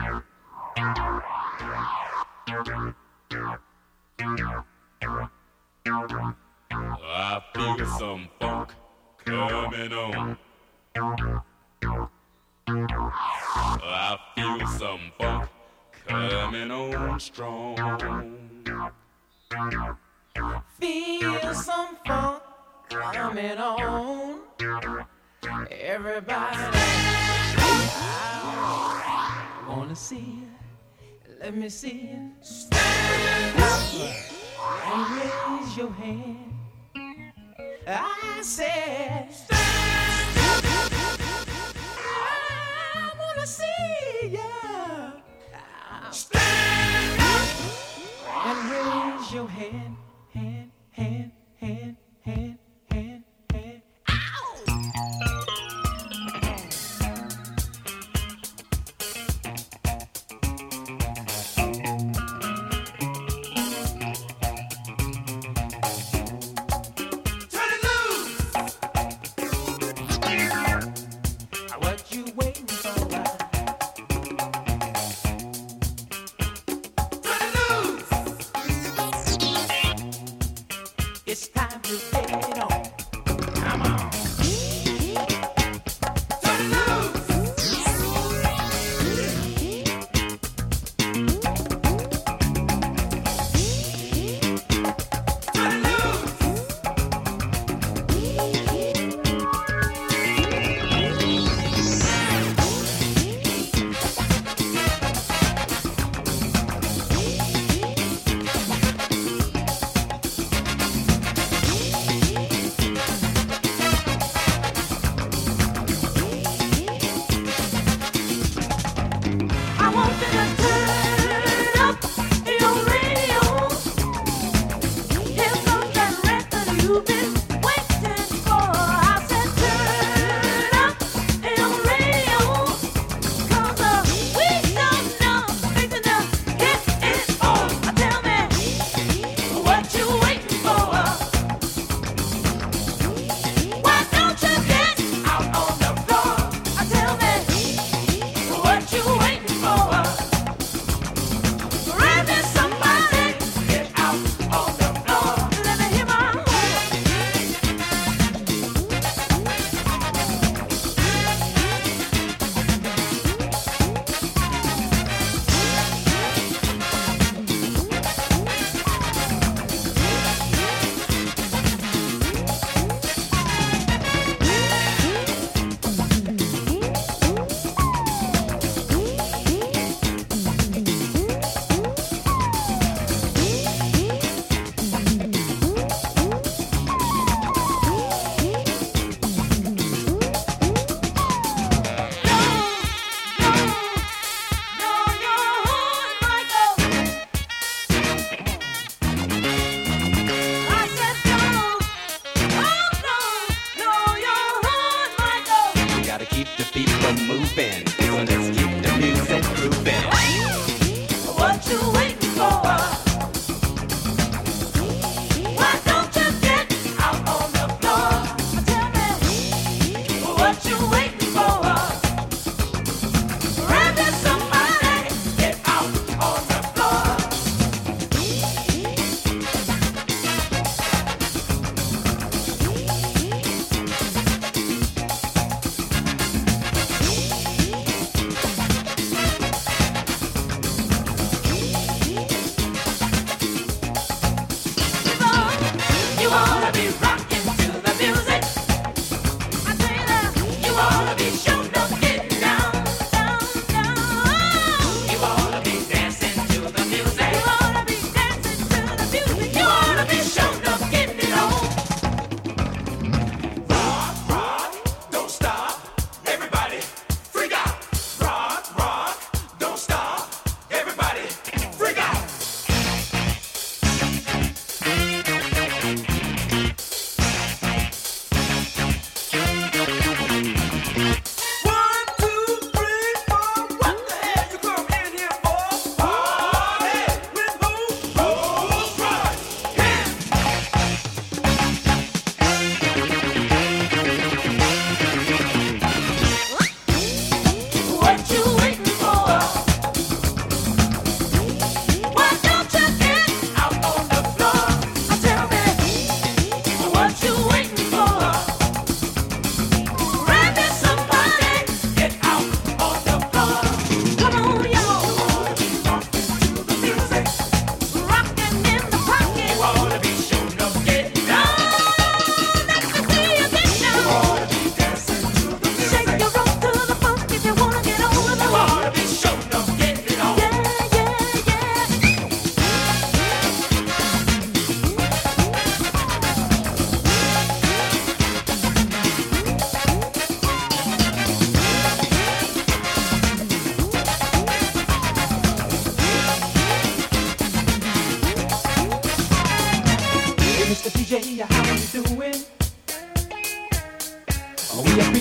I feel some funk coming on. I feel some funk coming on strong. Feel some funk coming on. Everybody, I wanna see it. Let me see it. Stand up and raise your hand. I said, stand up. I wanna see ya. Stand up and raise your hand, hand, hand, hand, hand, hand, hand. Ow!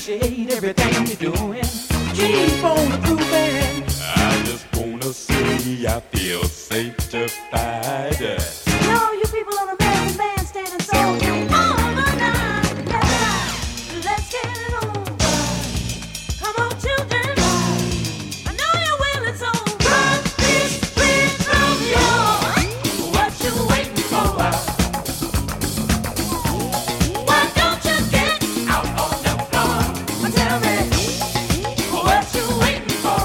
appreciate everything you're doing. Keep on improving. I just wanna say I feel sanctified. Yo, you people on the American Bandstand so all the night. Let's get it on. Come on, children. I know you're willing, so run this rhythm, yo. What you waiting for? Why don't you get out on the floor? Tell me what you waiting for?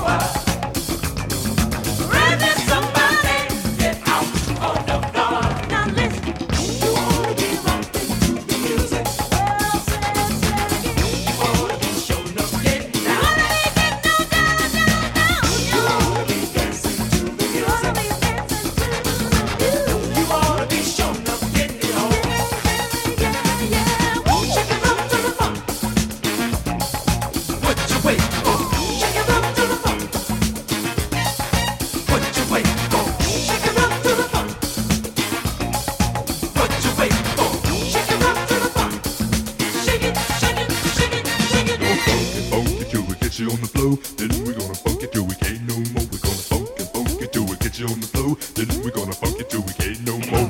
Run this somebody, get out on the floor. Now listen, you wanna get rockin' to the music. Well, say it again. You wanna be showing up, getting down. Wanna be getting down, down. You wanna be dancing to the music. You wanna be dancing to the music. You wanna be showing up, getting it on. Yeah. Won't shake it up to the funk. What you waiting for? Shake it up to the funk. What you waiting for? Shake it up to the funk. What you waiting for? Shake it up to the funk. Shake it, shake it, shake it, shake it. Funk it till we get you on the floor. Then we're gonna funk it till we can't no more. We're gonna funk it till we get you on the floor. Then we're gonna funk it till we can't no more.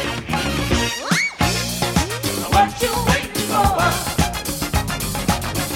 What you waiting for?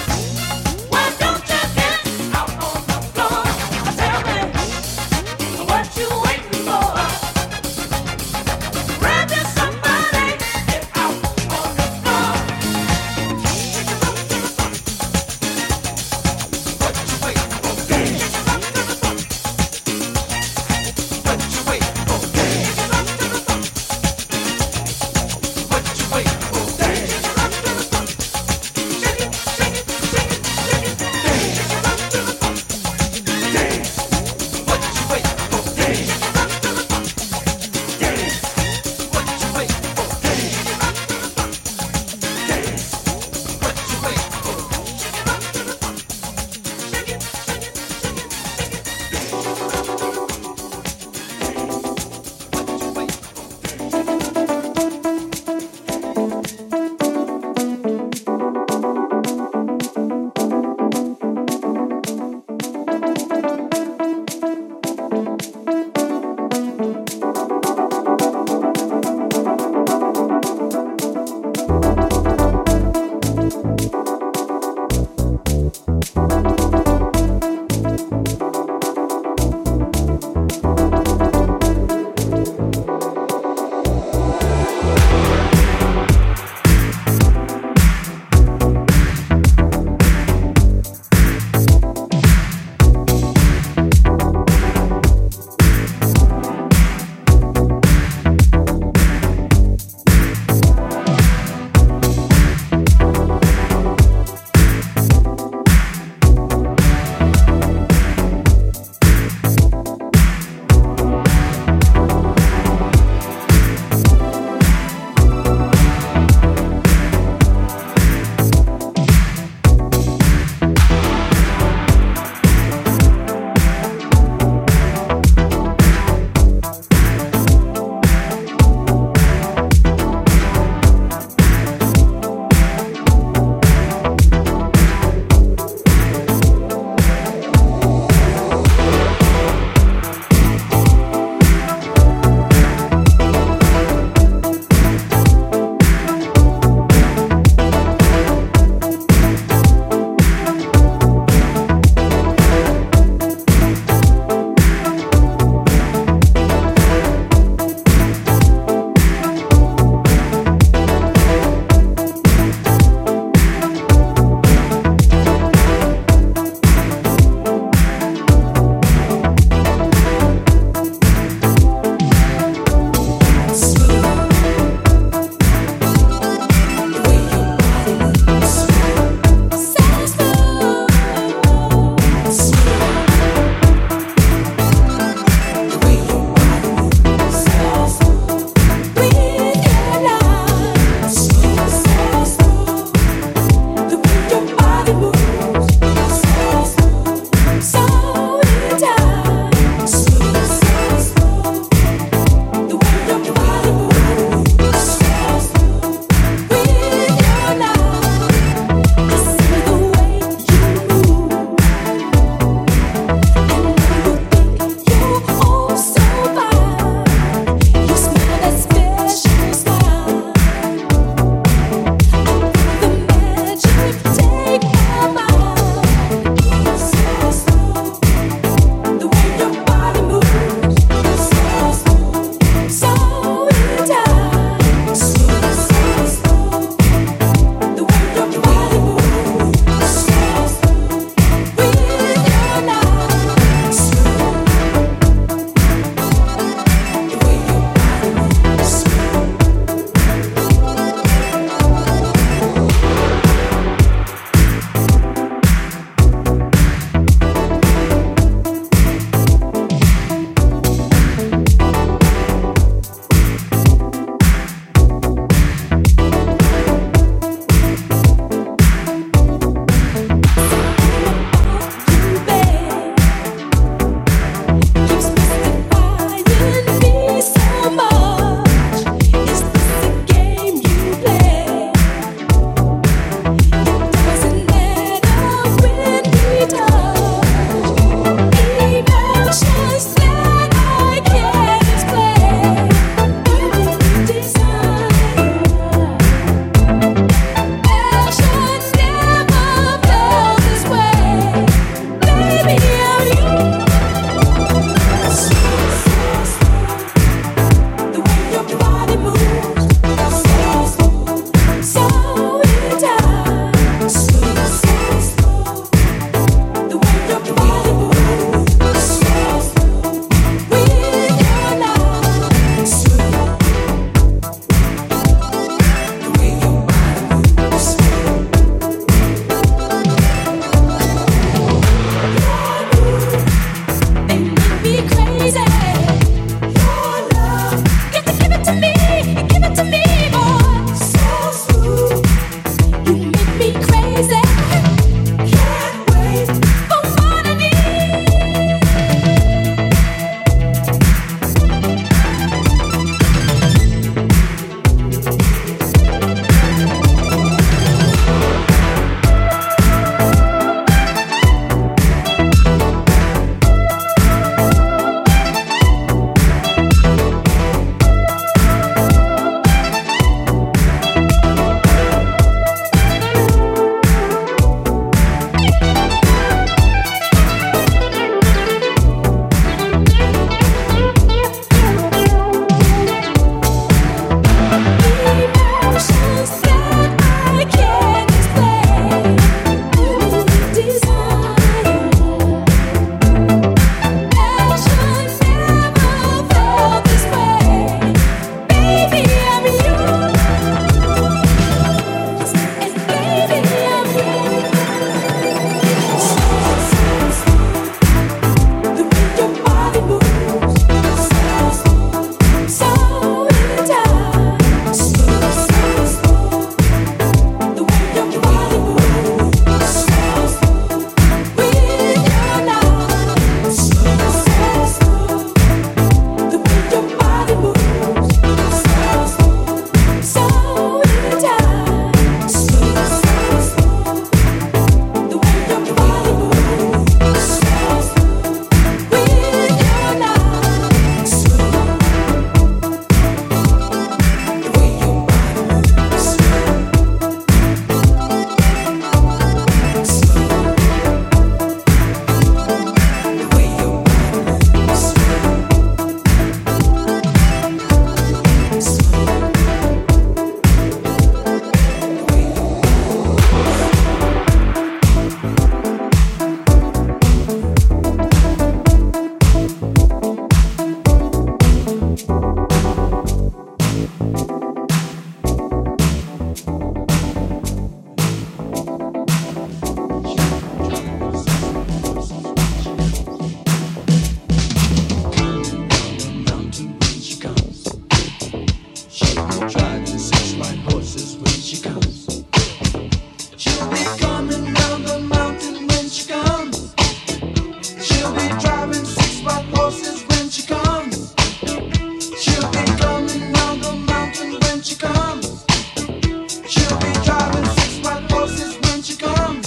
when she comes. She'll be coming down the mountain when she comes. She'll be driving 6 white horses when she comes. She'll be coming down the mountain when she comes. She'll be driving 6 white horses when she comes.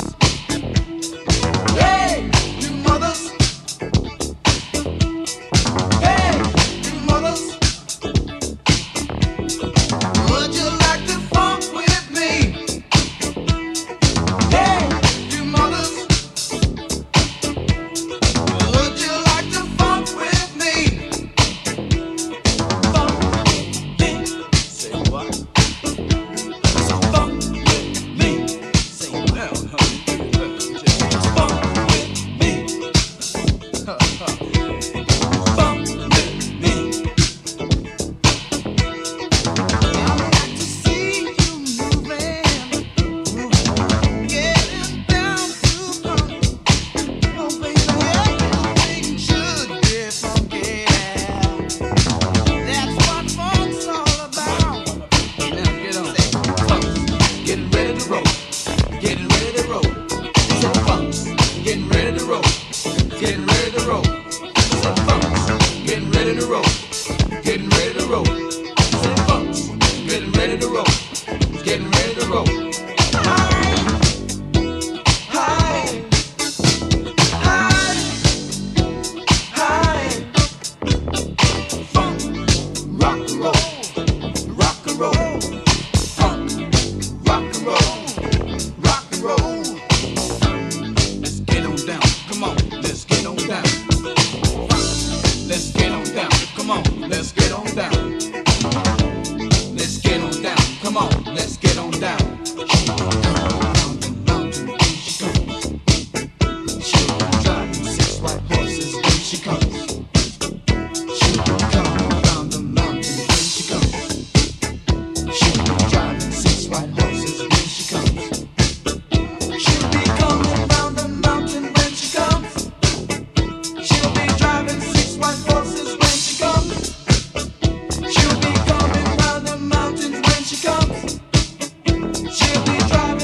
Hey, you mothers. Hey, you mothers. Would you like to funk with me? Hey, you mothers. Would you like to funk with me? Funk with me. Say what? So funk with me. Say well, honey. Just funk with me. Funk with me. I like to see you moving, getting down to funk. Oh baby, everything should get funky. That's what funk's all about. Now get on. Say funk, getting ready to roll, getting ready to roll. Say funk, getting ready to roll, getting ready to roll. Say funk, getting ready to roll, getting ready to roll. Say funk, getting ready to roll, getting ready to roll. Hi, hi, hi, hi. Funk, rock and roll, rock and roll. Funk, rock and roll, rock and roll. Let's get on down, come on, let's get on down. Let's get on down, come on, let's get on down. Let's get on down, come on, let's get on down. Down the mountain when she comes. She'll be driving 6 white horses when she comes. She'll be coming down the mountain when she comes. She'll be driving 6 white horses when she comes. She'll be coming down the mountain when she comes. She'll be driving 6 white horses when she comes. She'll be coming down the mountains when she comes. She'll be driving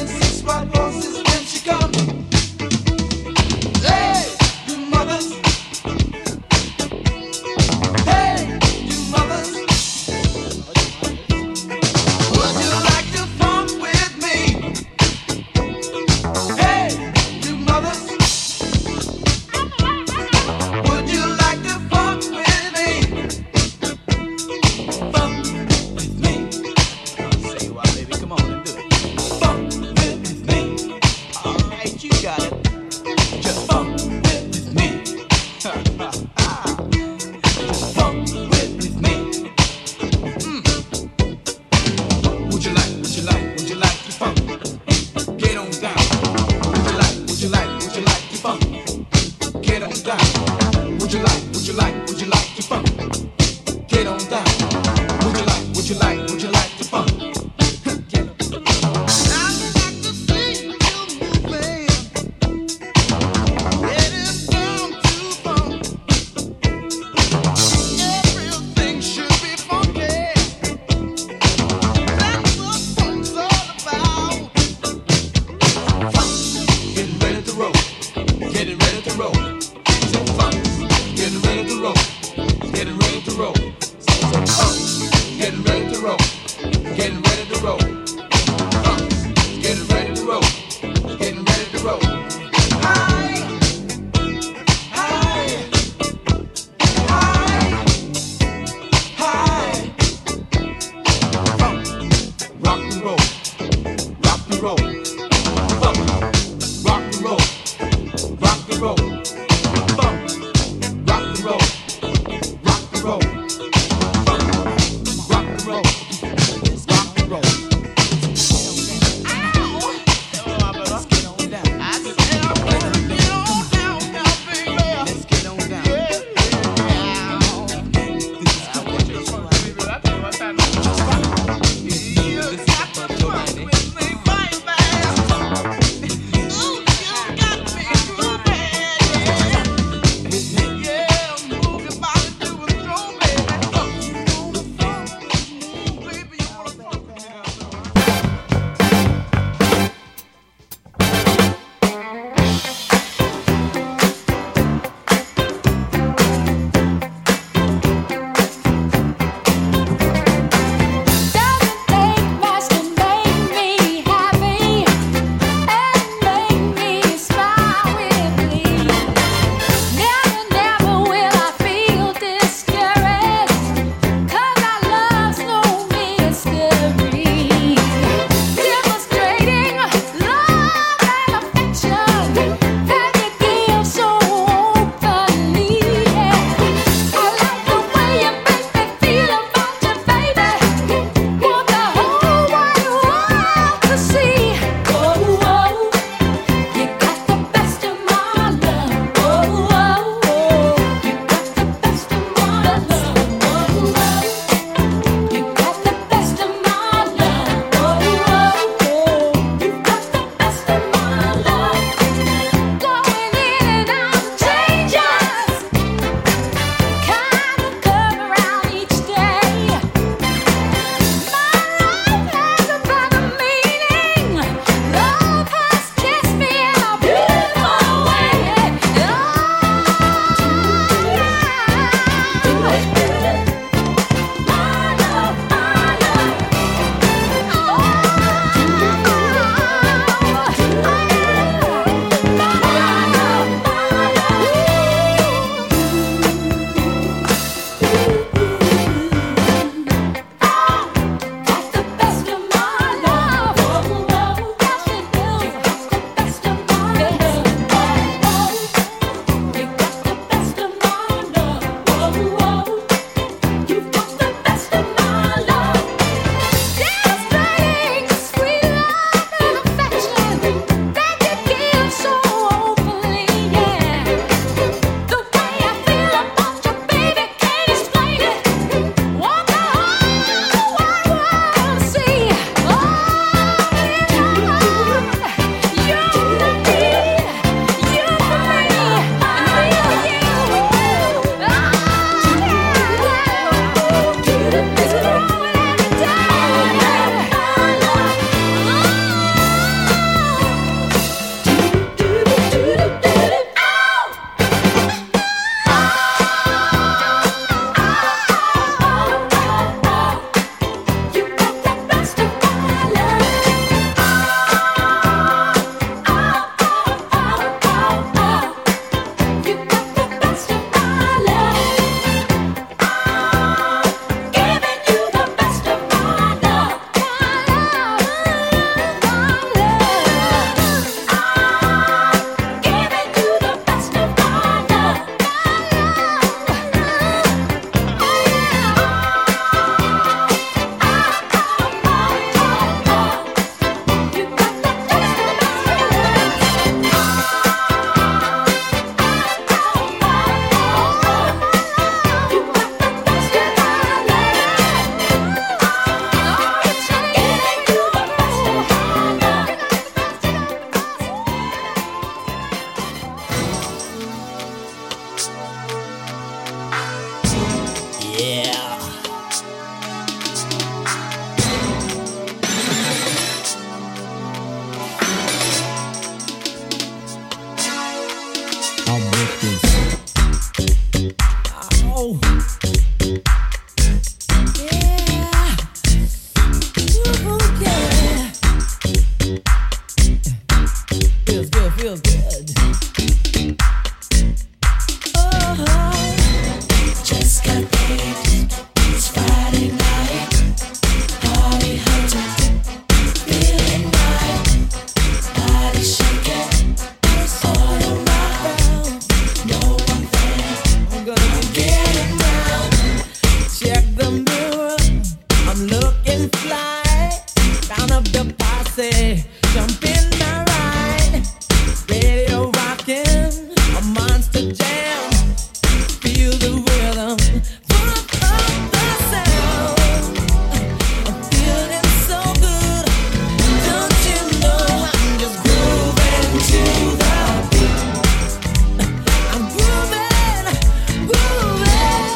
of the posse. Jump in my ride. Radio rocking, a monster jam. Feel the rhythm, pump up the sound. I'm feeling so good. Don't you know I'm just grooving to the beat. I'm grooving, grooving.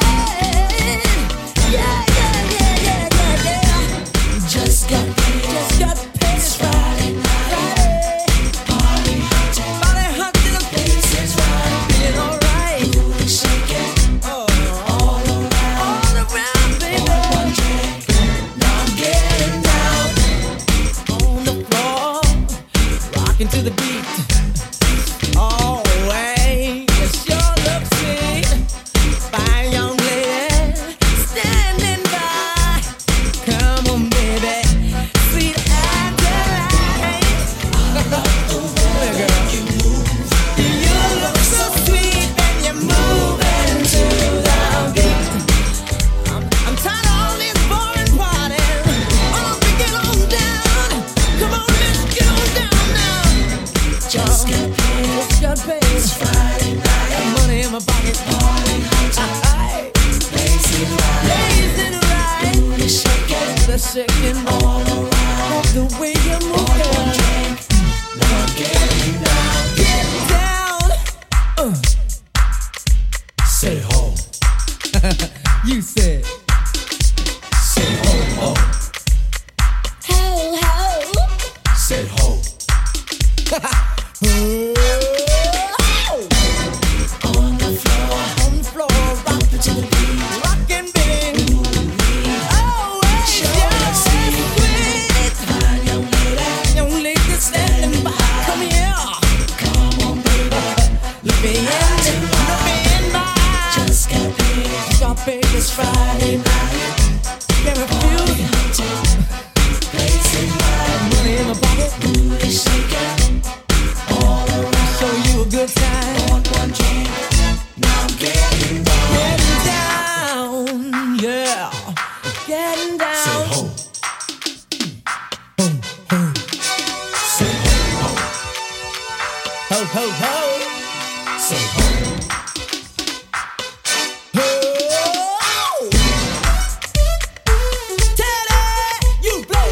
Yeah, yeah, yeah, yeah, yeah, yeah. Just got paid. It's Friday night. Party hot till the place is right. Feeling alright. Booty shaking. All around, baby. One drink. Now I'm getting down on the floor, rocking to the beat. Oh, wait, you sure look sweet. Fine young lady standing by. Come on, baby, sweet Adelaide. I love the way you move. You look so sweet and you're moving to the beat. I'm tired of all this boring partying. Oh, we get on down. Come on, let's get on down now. Just got paid. It's Friday night. Got money in my pocket. Party hot. Blazing right. Booty shaking. The shaking all around. The way you move, girl. Drink. Now I'm getting down. Get down. Say ho, You said. say ho, ho, Ho, ho. say ho. On the floor, rock to the beat, rockin' baby. Oh, it's sweet. Young lady standing by, come here. Come on, baby. Look me in my eyes. Just got paid. It's Friday night. Can't refuse. Money in my pocket. Booty shaking. All around. Show you a good time. One drink. Now I'm getting down. Yeah. Getting down. Say ho, say ho, ho, Ho, ho, ho. say ho. Ho. Teddy, you blow.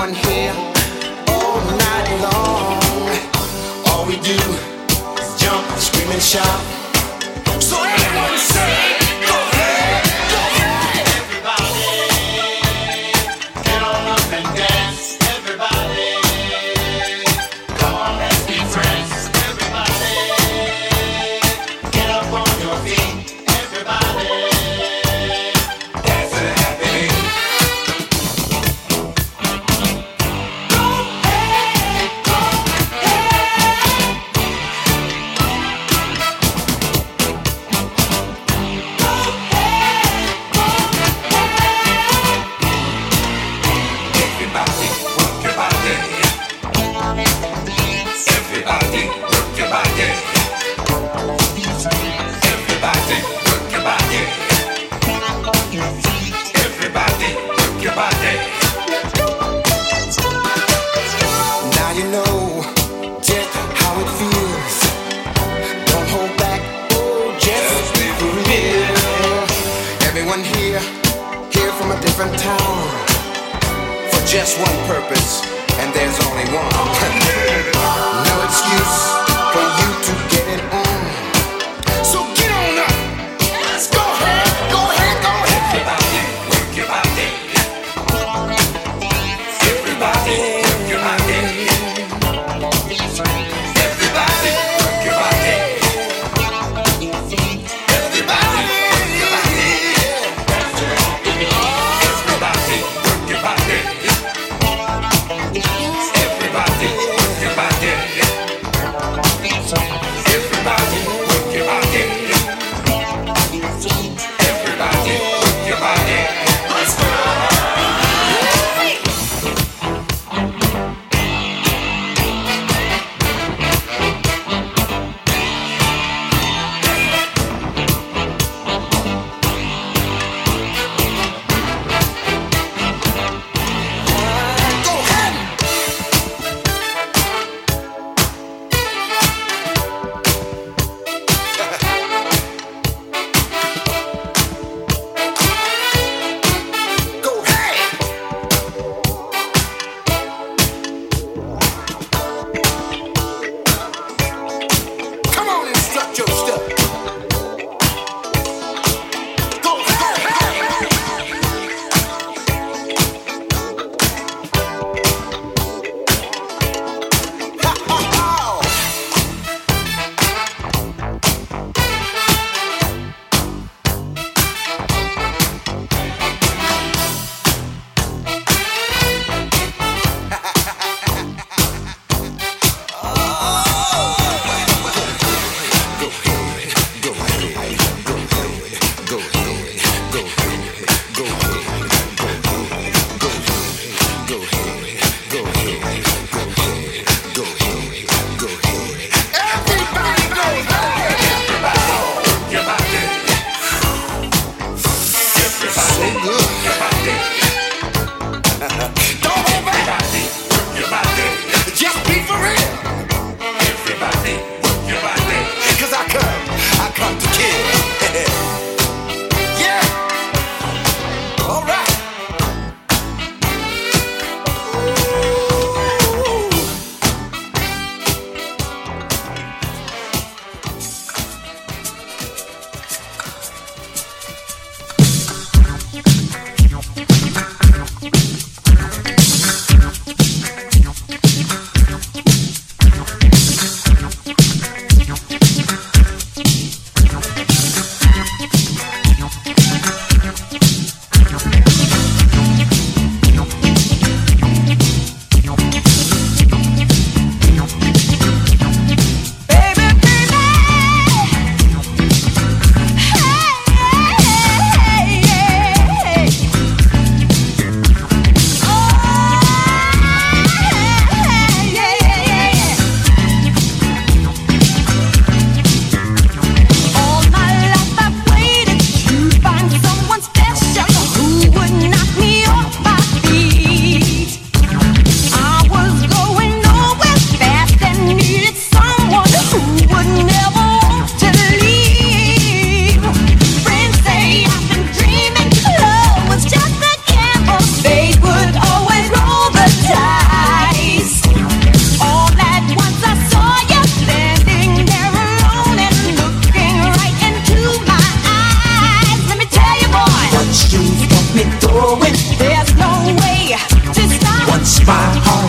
everyone here all night long. All we do is jump, scream and shout. So everyone say, go ahead, go ahead. Everybody, get on up and dance. Everybody, come on, let's be friends. Everybody, get up on your feet. Everybody, dance to the happy beat. Go ahead, go Everybody, work your body. Everybody, work your body. Everybody, work your body. Everybody, work your body. Now you know just how it feels. Don't hold back, oh, just be for real. Everyone here from a different town, for just one purpose, and there's only one. No excuse for you to get it on. So get on up. Let's go ahead, go ahead, go ahead. Everybody, work your body. Everybody, work your body. Everybody, work your body. Everybody, work your body. Everybody, work your body. Everybody, work your body.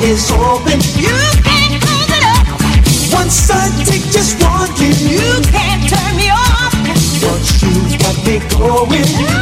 is open. You can't close it up. Once I take just one hit, You can't turn me off. once you got me going.